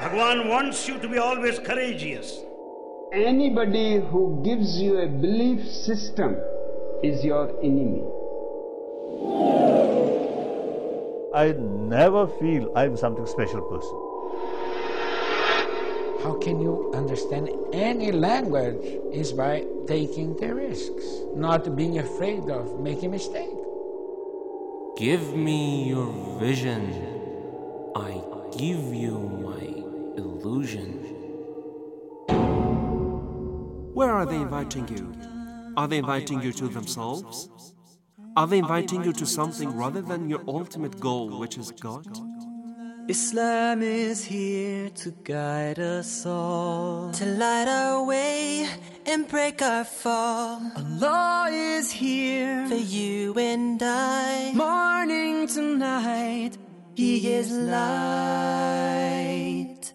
Bhagwan wants you to be always courageous. Anybody who gives you a belief system is your enemy. I never feel I'm something special person. How can you understand any language is by taking the risks, not being afraid of making a mistake. Give me your vision. I give you my illusion. Where are they inviting you? Are they inviting you to themselves? Are they inviting you to something rather than your ultimate goal, which is God? Islam is here to guide us all, to light our way and break our fall. Allah is here for you and I, morning to night, He is light.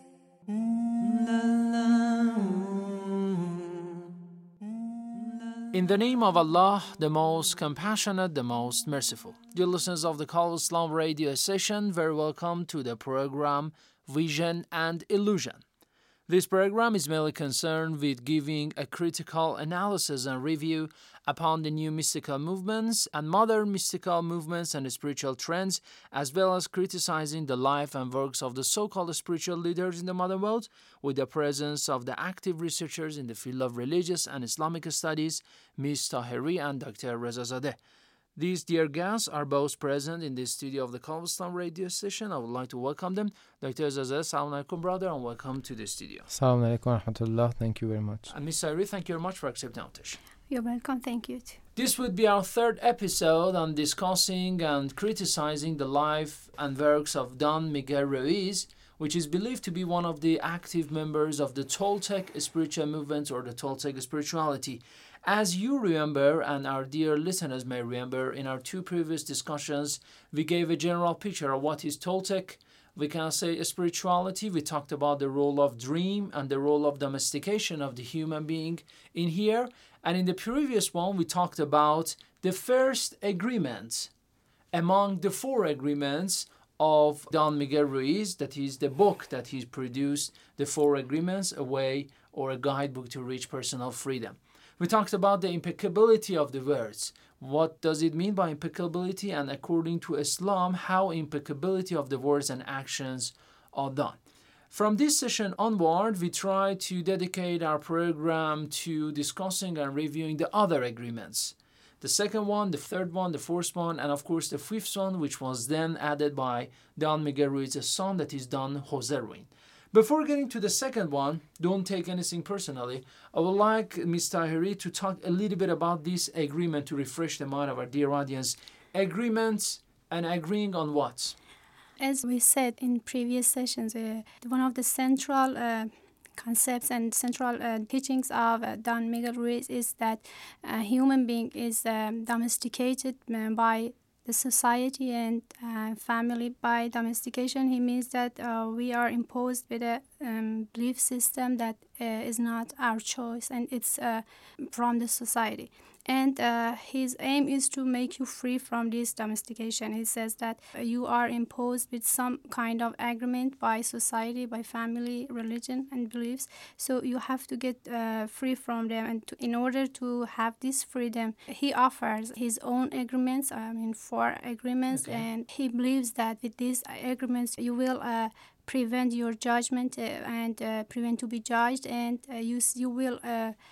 In the name of Allah, the most compassionate, the most merciful. Dear listeners of the Call of Islam radio station, very welcome to the program Vision and Illusion. This program is mainly concerned with giving a critical analysis and review upon the new mystical movements and modern mystical movements and spiritual trends, as well as criticizing the life and works of the so-called spiritual leaders in the modern world, with the presence of the active researchers in the field of religious and Islamic studies, Ms. Taheri and Dr. Rezazadeh. These dear guests are both present in the studio of the Call of Islam radio station. I would like to welcome them. Dr. Rezazadeh, Assalamu alaikum, brother, and welcome to the studio. Assalamu alaikum wa rahmatullah. Thank you very much. And Ms. Taheri, thank you very much for accepting our invitation. You're welcome. Thank you too. This would be our third episode on discussing and criticizing the life and works of Don Miguel Ruiz, which is believed to be one of the active members of the Toltec spiritual movement or the Toltec spirituality. As you remember, and our dear listeners may remember, in our two previous discussions, we gave a general picture of what is Toltec. We can say spirituality. We talked about the role of dream and the role of domestication of the human being in here. And in the previous one, we talked about the first agreement among the four agreements of Don Miguel Ruiz, that is the book that he's produced, The Four Agreements, a way or a guidebook to reach personal freedom. We talked about the impeccability of the words. What does it mean by impeccability? And according to Islam, how impeccability of the words and actions are done. From this session onward, we try to dedicate our program to discussing and reviewing the other agreements. The second one, the third one, the fourth one, and of course the fifth one, which was then added by Don Miguel Ruiz's son, that is Don Jose Ruiz. Before getting to the second one, don't take anything personally, I would like Ms. Taheri to talk a little bit about this agreement to refresh the mind of our dear audience. Agreements and agreeing on what? As we said in previous sessions, one of the central concepts and central teachings of Don Miguel Ruiz is that a human being is domesticated by the society and family. By domestication, he means that we are imposed with a belief system that is not our choice, and it's from the society. And his aim is to make you free from this domestication. He says that you are imposed with some kind of agreement by society, by family, religion, and beliefs. So you have to get free from them. And in order to have this freedom, he offers his own agreements, 4 agreements. Okay. And he believes that with these agreements, you will prevent your judgment and prevent to be judged, and you will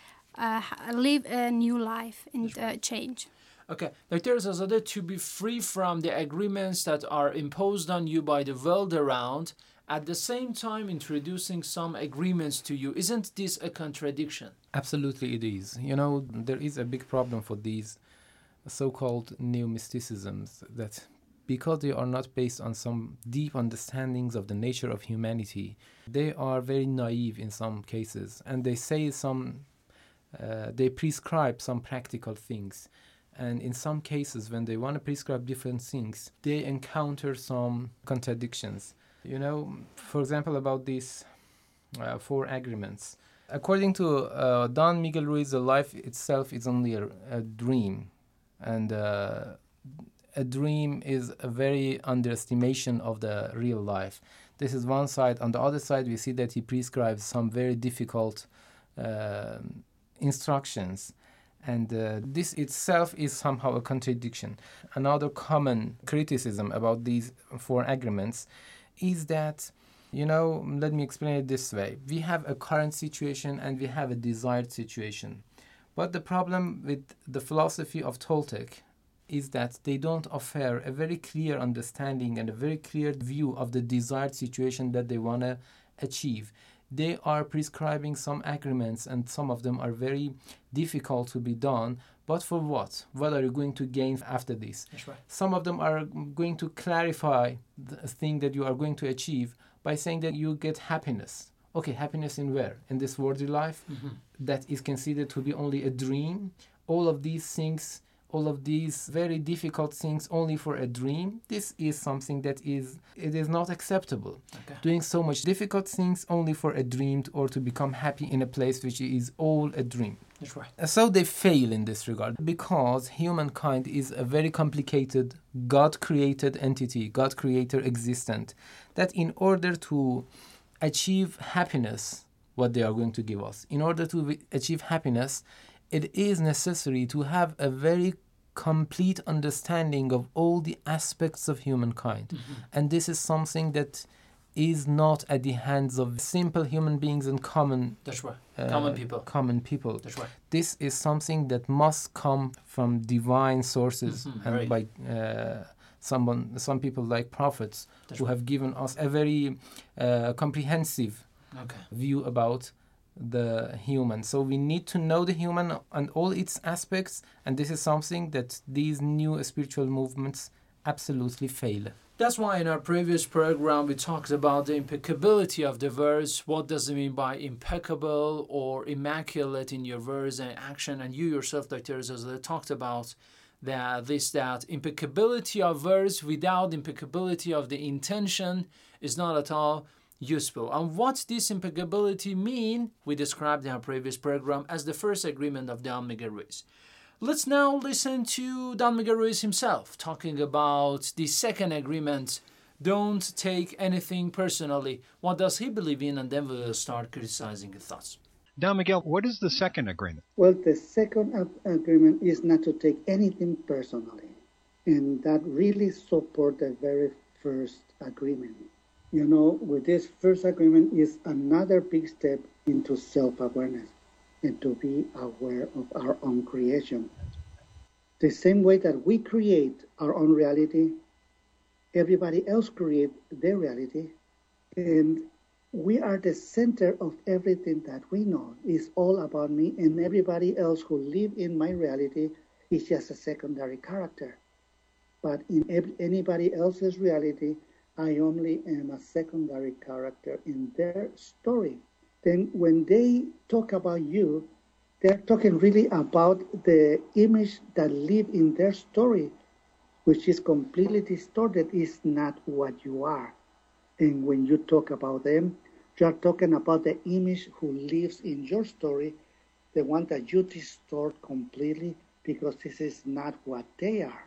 live a new life and change. Okay, Dr. Rezazadeh, to be free from the agreements that are imposed on you by the world around, at the same time introducing some agreements to you, isn't this a contradiction? Absolutely it is. There is a big problem for these so-called new mysticisms, that because they are not based on some deep understandings of the nature of humanity, they are very naive in some cases, and they say they prescribe some practical things. And in some cases, when they want to prescribe different things, they encounter some contradictions. For example, about these 4 agreements. According to Don Miguel Ruiz, the life itself is only a dream. And a dream is a very underestimation of the real life. This is one side. On the other side, we see that he prescribes some very difficult instructions. And this itself is somehow a contradiction. Another common criticism about these four agreements is that, let me explain it this way. We have a current situation and we have a desired situation. But the problem with the philosophy of Toltec is that they don't offer a very clear understanding and a very clear view of the desired situation that they want to achieve. They are prescribing some agreements, and some of them are very difficult to be done. But for what? What are you going to gain after this? That's right. Some of them are going to clarify the thing that you are going to achieve by saying that you get happiness. Okay, happiness in where? In this worldly life? Mm-hmm. That is considered to be only a dream. All of these things, all of these very difficult things only for a dream, this is something that is not acceptable. Okay. Doing so much difficult things only for a dream or to become happy in a place which is all a dream. That's right. So they fail in this regard because humankind is a very complicated, God-created entity, God-creator existent, that in order to achieve happiness, what they are going to give us, in order to achieve happiness, it is necessary to have a very complete understanding of all the aspects of humankind. Mm-hmm. And this is something that is not at the hands of simple human beings and common... That's right. Common people. Common people. That's right. This is something that must come from divine sources, mm-hmm. and by some people like prophets. That's who have given us a very comprehensive view about the human. So we need to know the human and all its aspects, and this is something that these new spiritual movements absolutely fail. That's why in our previous program we talked about the impeccability of the verse. What does it mean by impeccable or immaculate in your verse and action? And you yourself, Dr. Azazadeh, talked about that impeccability of verse without impeccability of the intention is not at all useful. And what this impeccability mean, we described in our previous program as the first agreement of Don Miguel Ruiz. Let's now listen to Don Miguel Ruiz himself talking about the second agreement, don't take anything personally. What does he believe in? And then we'll start criticizing his thoughts. Don Miguel, what is the second agreement? Well, the second agreement is not to take anything personally. And that really supports the very first agreement. With this first agreement is another big step into self-awareness and to be aware of our own creation. The same way that we create our own reality, everybody else creates their reality, and we are the center of everything that we know. It's all about me, and everybody else who live in my reality is just a secondary character. But in anybody else's reality, I only am a secondary character in their story. Then when they talk about you, they're talking really about the image that live in their story, which is completely distorted, is not what you are. And when you talk about them, you are talking about the image who lives in your story, the one that you distort completely because this is not what they are.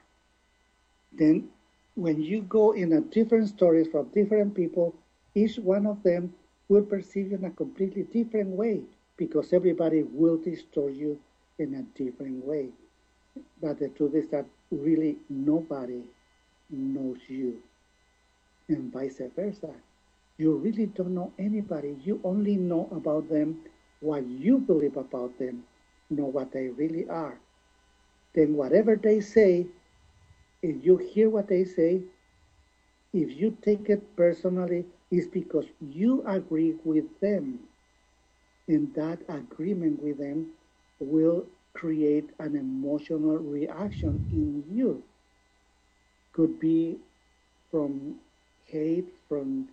Then when you go in a different stories from different people, each one of them will perceive you in a completely different way because everybody will distort you in a different way. But the truth is that really nobody knows you, and vice versa. You really don't know anybody. You only know about them what you believe about them, not what they really are. Then whatever they say, if you hear what they say, if you take it personally, it's because you agree with them. And that agreement with them will create an emotional reaction in you. Could be from hate, from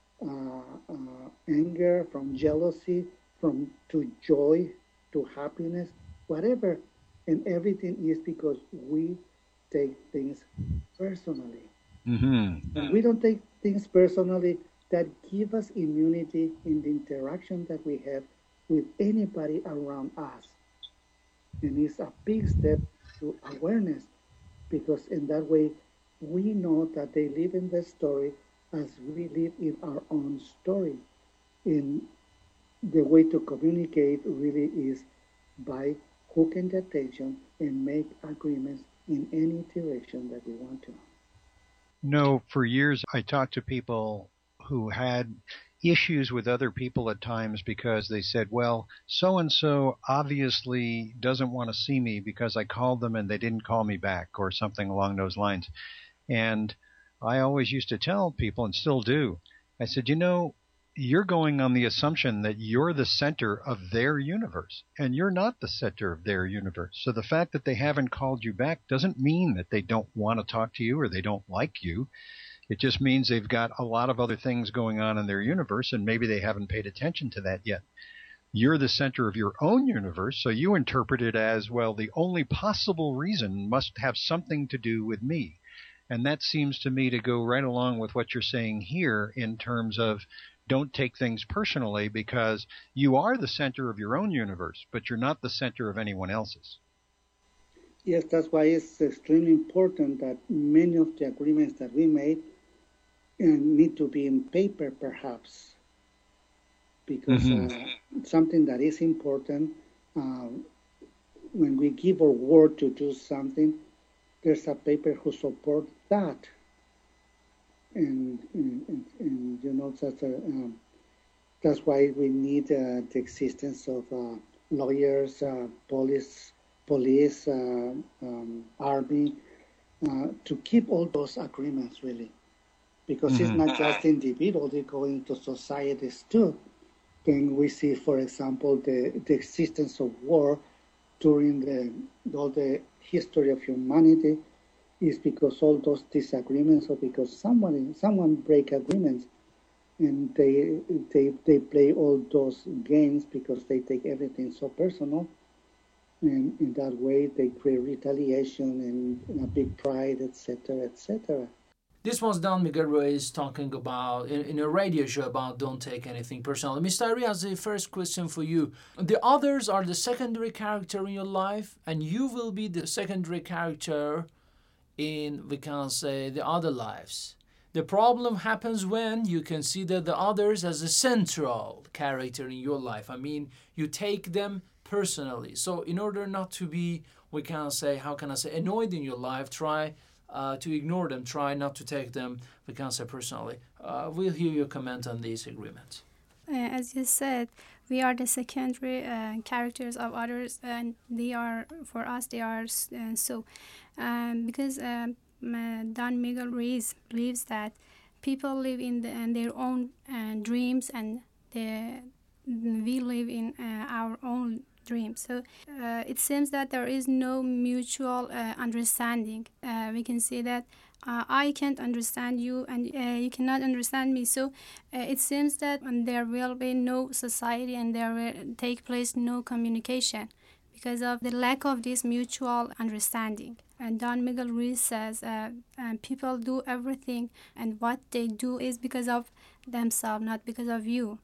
anger, from jealousy, to joy, to happiness, whatever. And everything is because we take things personally. Mm-hmm. And we don't take things personally that give us immunity in the interaction that we have with anybody around us. And it's a big step to awareness, because in that way we know that they live in their story as we live in our own story. And the way to communicate really is by hooking the attention and make agreements in any direction that we want to. No, for years I talked to people who had issues with other people at times because they said, well, so-and-so obviously doesn't want to see me because I called them and they didn't call me back, or something along those lines. And I always used to tell people, and still do, I said, you're going on the assumption that you're the center of their universe, and you're not the center of their universe. So the fact that they haven't called you back doesn't mean that they don't want to talk to you or they don't like you. It just means they've got a lot of other things going on in their universe, and maybe they haven't paid attention to that yet. You're the center of your own universe, so you interpret it as, well, the only possible reason must have something to do with me. And that seems to me to go right along with what you're saying here in terms of don't take things personally, because you are the center of your own universe, but you're not the center of anyone else's. Yes, that's why it's extremely important that many of the agreements that we made need to be in paper, perhaps, because something that is important, when we give our word to do something, there's a paper who supports that. And that's why we need the existence of lawyers, police, army, to keep all those agreements, really. Because it's not just individuals, they go into societies too. Then we see, for example, the existence of war during all the history of humanity is because all those disagreements, or because someone break agreements, and they play all those games because they take everything so personal, and in that way they create retaliation and a big pride, etc., etc. This was Don Miguel Ruiz talking about in a radio show about don't take anything personally. Mr. Ari has the first question for you. The others are the secondary character in your life, and you will be the secondary character in, we can say, the other lives. The problem happens when you consider the others as a central character in your life. I mean, you take them personally. So in order not to be, we can say, annoyed in your life, try to ignore them, try not to take them, we can say, personally. We'll hear your comment on these agreements. As you said, we are the secondary characters of others, and they are, for us, they are so. Because Don Miguel Ruiz believes that people live in their own dreams, and we live in our own dreams. So it seems that there is no mutual understanding. We can say that I can't understand you, and you cannot understand me. So it seems that there will be no society, and there will take place no communication because of the lack of this mutual understanding. And Don Miguel Ruiz says people do everything, and what they do is because of themselves, not because of you.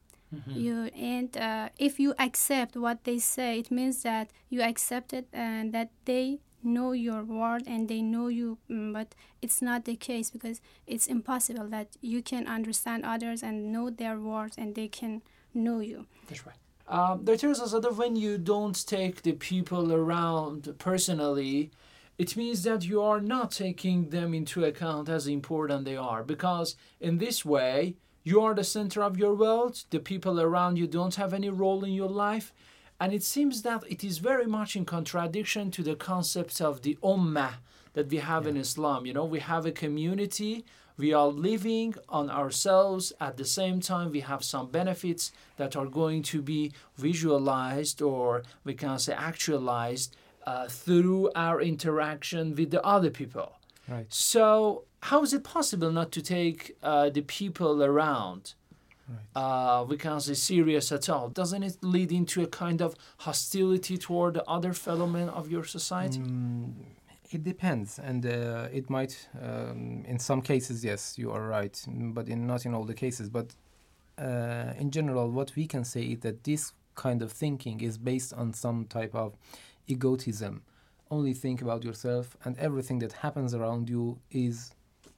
If you accept what they say, it means that you accept it and that they know your word and they know you, but it's not the case, because it's impossible that you can understand others and know their words and they can know you. That's right. There is also that when you don't take the people around personally, it means that you are not taking them into account as important they are, because in this way, you are the center of your world. The people around you don't have any role in your life. And it seems that it is very much in contradiction to the concept of the ummah that we have in Islam. You know, we have a community. We are living on ourselves. At the same time, we have some benefits that are going to be visualized, or we can say actualized, through our interaction with the other people. Right. So how is it possible not to take the people around, we can't say, serious at all? Doesn't it lead into a kind of hostility toward the other fellow men of your society? It depends, and it might, in some cases, yes, you are right, but not in all the cases. But in general, what we can say is that this kind of thinking is based on some type of egotism. Only think about yourself, and everything that happens around you is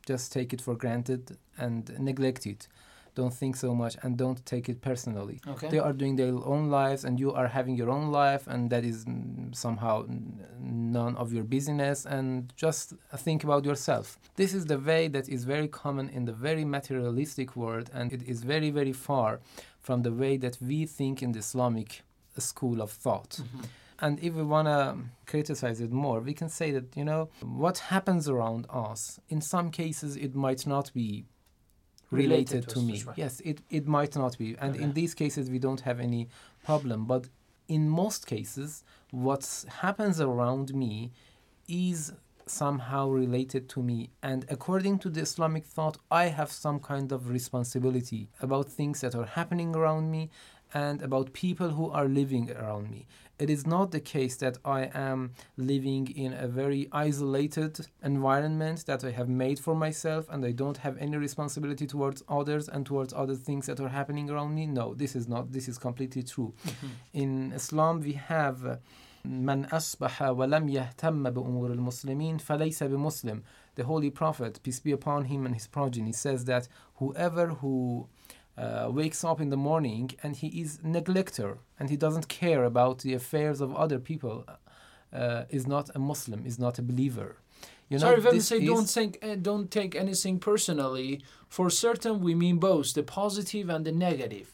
just take it for granted and neglect it. Don't think so much and don't take it personally. Okay. They are doing their own lives and you are having your own life, and that is somehow none of your business, and just think about yourself. This is the way that is very common in the very materialistic world, and it is very, very far from the way that we think in the Islamic school of thought. And if we want to criticize it more, we can say that, what happens around us, in some cases it might not be related to me. Right. Yes, it might not be. And in these cases, we don't have any problem. But in most cases, what happens around me is somehow related to me. And according to the Islamic thought, I have some kind of responsibility about things that are happening around me and about people who are living around me. It is not the case that I am living in a very isolated environment that I have made for myself and I don't have any responsibility towards others and towards other things that are happening around me. No, this is not. This is completely true. In Islam, we have من أصبح ولم يهتم بأمور المسلمين فليس بمسلم. The Holy Prophet, peace be upon him and his progeny, says that whoever who wakes up in the morning and he is neglector and he doesn't care about the affairs of other people is not a Muslim, is not a believer. Sorry, if I say don't take anything personally. For certain, we mean both the positive and the negative.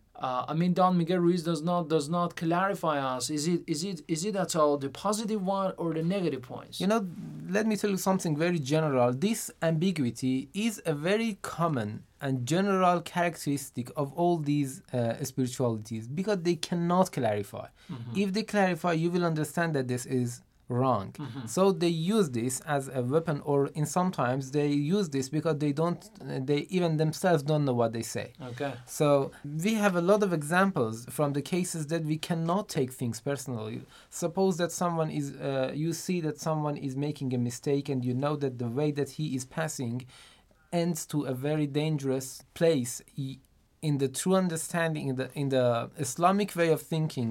Don Miguel Ruiz does not clarify us. Is it at all the positive one or the negative points? Let me tell you something very general. This ambiguity is a very common and general characteristic of all these spiritualities because they cannot clarify. If they clarify, you will understand that this is wrong. So they use this as a weapon, or in sometimes they use this because they even themselves don't know what they say. Okay. So we have a lot of examples from the cases that we cannot take things personally. Suppose that someone is, you see that someone is making a mistake and you know that the way that he is passing ends to a very dangerous place. In the true understanding, in the Islamic way of thinking,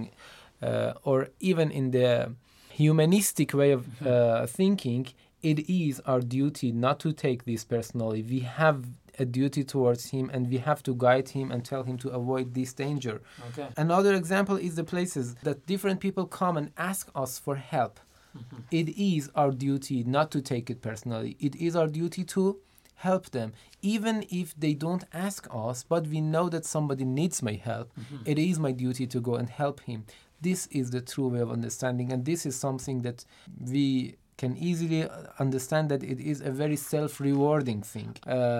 or even in the humanistic way of thinking, it is our duty not to take this personally. We have a duty towards him and we have to guide him and tell him to avoid this danger. Okay. Another example is the places that different people come and ask us for help. It is our duty not to take it personally. It is our duty to help them, even if they don't ask us, but we know that somebody needs my help. It is my duty to go and help him. This is the true way of understanding, and this is something that we can easily understand that it is a very self-rewarding thing.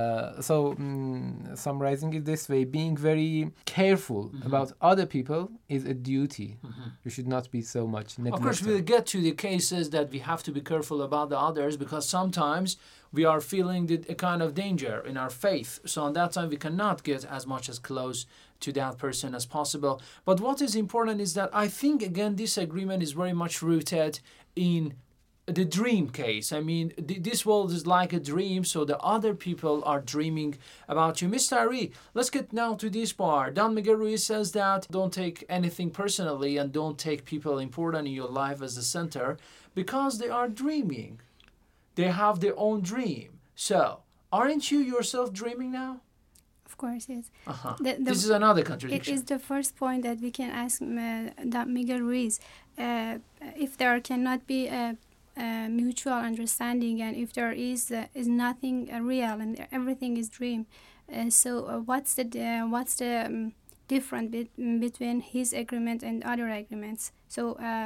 Summarizing it this way, being very careful about other people is a duty. We should not be so much neglected. Of course, we'll get to the cases that we have to be careful about the others because sometimes we are feeling a kind of danger in our faith. So on that time, we cannot get as much as close to that person as possible. But what is important is that I think, again, this agreement is very much rooted in the dream case. This world is like a dream, so the other people are dreaming about you. Mr. Ari, let's get now to this part. Don Miguel Ruiz says that don't take anything personally and don't take people important in your life as the center because they are dreaming. They have their own dream. So, aren't you yourself dreaming now? Of course, yes. This is another contradiction. It is the first point that we can ask Miguel Ruiz. If there cannot be a mutual understanding and if there is nothing real and everything is dream, what's the difference between his agreement and other agreements? So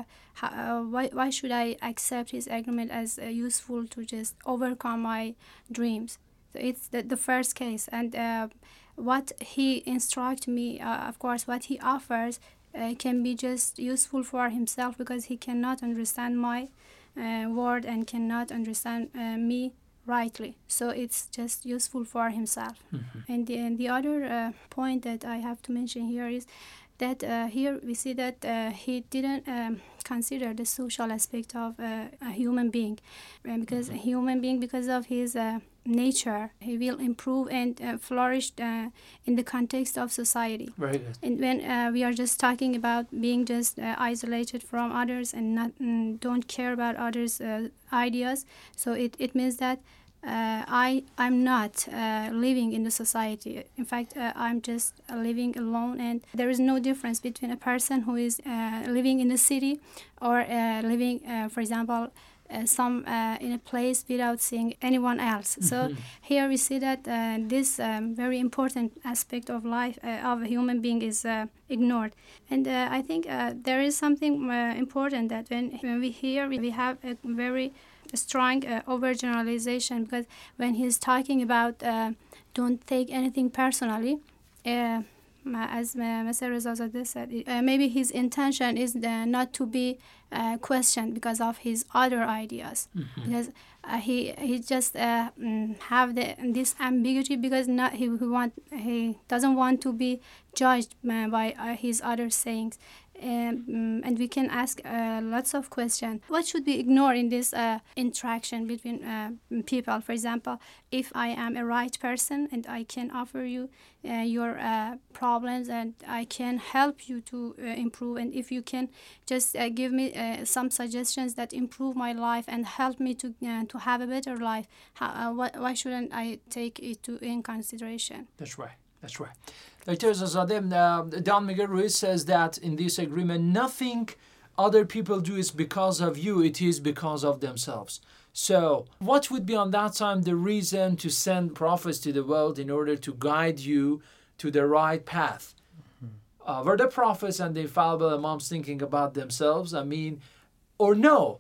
why should I accept his agreement as useful to just overcome my dreams? So it's the first case, and what he instructs me, of course, what he offers can be just useful for himself because he cannot understand my word and cannot understand me rightly. So it's just useful for himself. And the other point that I have to mention here is that here we see that he didn't consider the social aspect of a human being, because a human being, because of his nature, he will improve and flourish in the context of society. Very good. And when we are just talking about being just isolated from others and not don't care about others' ideas, so it means that I'm not living in the society. In fact, I'm just living alone, and there is no difference between a person who is living in the city or living, for example, in a place without seeing anyone else. So here we see that this very important aspect of life of a human being is ignored. And I think there is something important that when we hear, we have a very strong overgeneralization, because when he's talking about don't take anything personally, as Mr. Rezazadeh said, maybe his intention is not to be questioned because of his other ideas, because he just have this ambiguity, because he doesn't want to be judged by his other sayings. And we can ask lots of questions. What should we ignore in this interaction between people? For example, if I am a right person and I can offer you your problems and I can help you to improve, and if you can just give me some suggestions that improve my life and help me to have a better life, why shouldn't I take it in consideration? That's right. That's right. Dr. Rezazadeh, Don Miguel Ruiz says that in this agreement, nothing other people do is because of you, it is because of themselves. So what would be on that time the reason to send prophets to the world in order to guide you to the right path? Were the prophets and the infallible imams thinking about themselves? I mean, or no?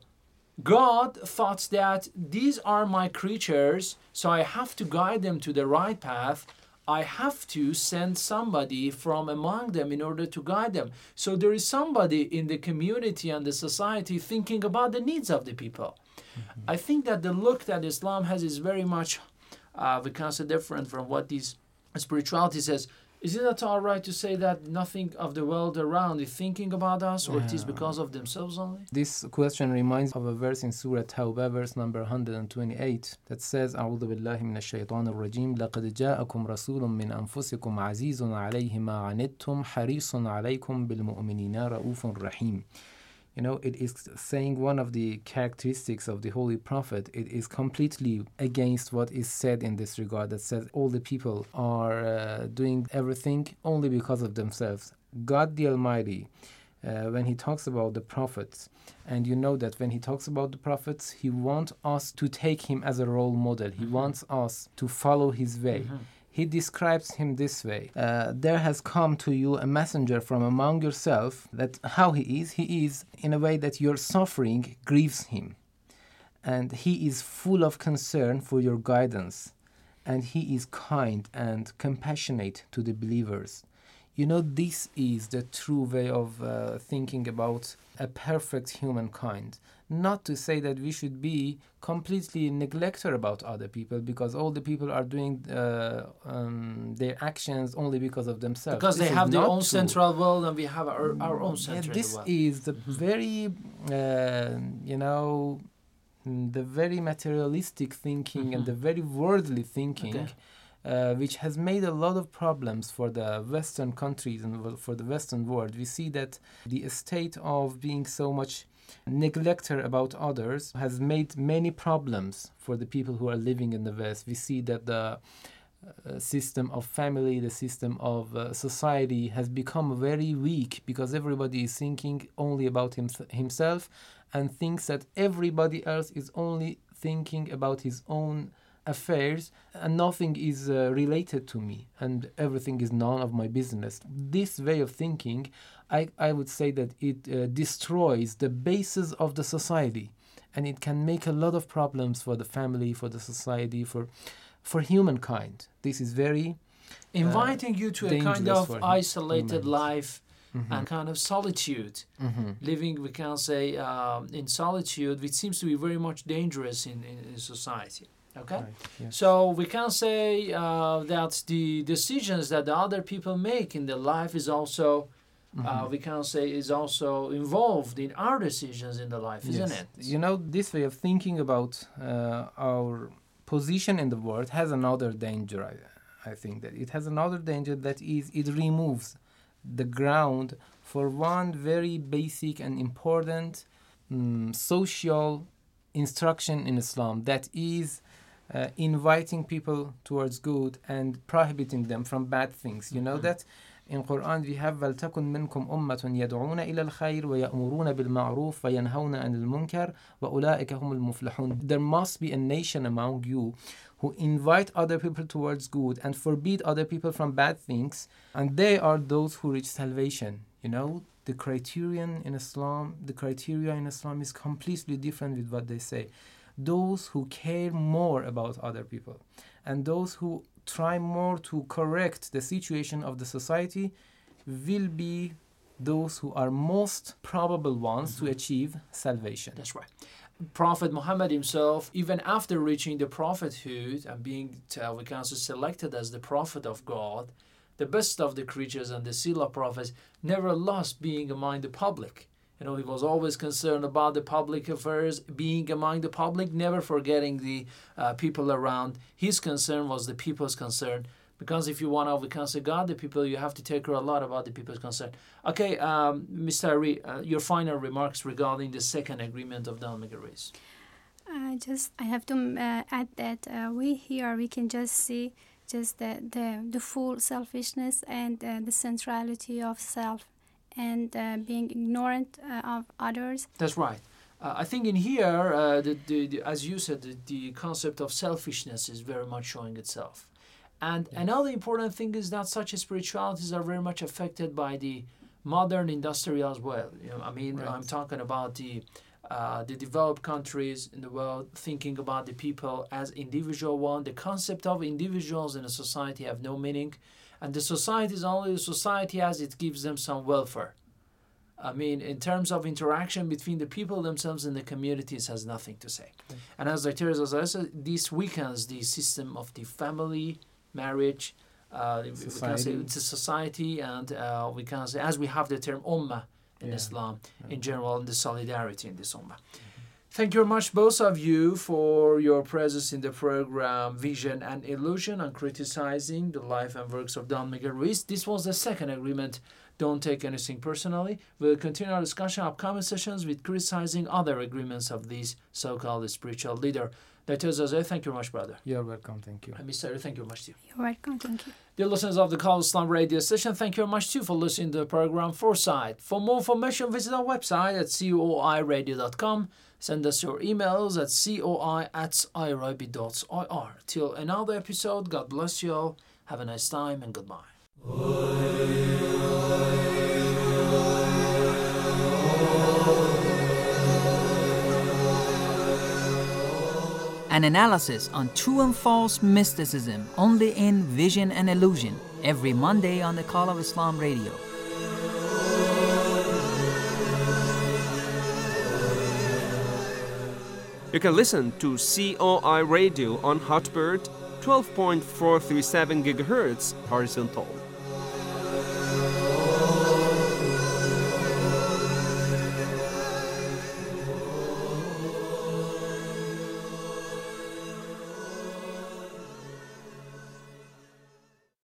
God thought that these are my creatures, so I have to guide them to the right path. I have to send somebody from among them in order to guide them. So there is somebody in the community and the society thinking about the needs of the people. I think that the look that Islam has is very much, we can say, different from what this spirituality says. Is it at all right to say that nothing of the world around is thinking about us, or it is because of themselves only? This question reminds of a verse in Surah Tawbah, verse number 128, that says, أعوذ بالله من الشيطان الرجيم لقد جاءكم رسول من أنفسكم عزيز عليه ما عنتم حريص عليكم بالمؤمنين رؤوف رحيم. You know, it is saying one of the characteristics of the Holy Prophet. It is completely against what is said in this regard, that says all the people are doing everything only because of themselves. God the Almighty, when He talks about the prophets, and you know that when He talks about the prophets, He wants us to take Him as a role model. He wants us to follow His way. He describes him this way. There has come to you a messenger from among yourself, that how he is in a way that your suffering grieves him. And he is full of concern for your guidance. And he is kind and compassionate to the believers. You know, this is the true way of thinking about a perfect humankind. Not to say that we should be completely neglected about other people, because all the people are doing their actions only because of themselves. Because they have their own central world and we have our own central world. This is the very, the very materialistic thinking and the very worldly thinking. Which has made a lot of problems for the Western countries and for the Western world. We see that the state of being so much neglected about others has made many problems for the people who are living in the West. We see that the system of family, the system of society has become very weak, because everybody is thinking only about himself and thinks that everybody else is only thinking about his own affairs, and nothing is related to me, and everything is none of my business. This way of thinking, I would say that it destroys the basis of the society, and it can make a lot of problems for the family, for the society, for humankind. This is very inviting you to a kind of isolated life and kind of solitude. Living, we can say, in solitude, which seems to be very much dangerous in society. Okay, right, yes. So we can say that the decisions that the other people make in their life is also, we can say, is also involved in our decisions in the life, isn't it? You know, this way of thinking about our position in the world has another danger. I think that it has another danger, that is, it removes the ground for one very basic and important social instruction in Islam, that is inviting people towards good and prohibiting them from bad things. You know that? In Quran we have وَلْتَكُنْ مِنْكُمْ أُمَّةٌ يَدْعُونَ إِلَى الْخَيْرِ وَيَأْمُرُونَ بِالْمَعْرُوفِ وَيَنْهَوْنَ عَنِ الْمُنْكَرِ وَأُولَٰئِكَ هُمُ الْمُفْلِحُونَ. There must be a nation among you who invite other people towards good and forbid other people from bad things, and they are those who reach salvation. You know, the criteria in Islam is completely different with what they say. Those who care more about other people and those who try more to correct the situation of the society will be those who are most probable ones to achieve salvation. That's right. Prophet Muhammad himself, even after reaching the prophethood and being, we can say, selected as the prophet of God, the best of the creatures and the seal of prophets, never lost being among the public. You know, he was always concerned about the public affairs, being among the public, never forgetting the people around. His concern was the people's concern. Because if you want to, we can say, God the people, you have to take care a lot about the people's concern. Okay, Mr. Ari, your final remarks regarding the second agreement of Don Miguel Ruiz. I have to add that we can just see just the full selfishness and the centrality of self and being ignorant of others. That's right. I think in here, as you said, the concept of selfishness is very much showing itself. And another important thing is that such spiritualities are very much affected by the modern industry as well. You know, I mean, right. I'm talking about the developed countries in the world thinking about the people as individual one. The concept of individuals in a society have no meaning. And the society is only a society as it gives them some welfare. I mean, in terms of interaction between the people themselves and the communities has nothing to say. Okay. And as Dr. said, this weakens the system of the family, marriage, we can say it's a society, and we can say, as we have the term ummah in Islam in general, and the solidarity in this ummah. Thank you very much, both of you, for your presence in the program Vision and Illusion on criticizing the life and works of Don Miguel Ruiz. This was the second agreement. Don't take anything personally. We'll continue our discussion in upcoming sessions with criticizing other agreements of this so-called spiritual leader. Dr. Zazay, thank you very much, brother. You're welcome, thank you. And Mr. Ari, thank you very much, too. You're welcome, thank you. Dear listeners of the Call Islam radio station, thank you very much, too, for listening to the program Foresight. For more information, visit our website at coiradio.com. Send us your emails at coi@irobi.ir. Till another episode, God bless you all. Have a nice time and goodbye. An analysis on true and false mysticism only in Vision and Illusion every Monday on the Call of Islam radio. You can listen to COI Radio on Hotbird 12.437 GHz horizontal.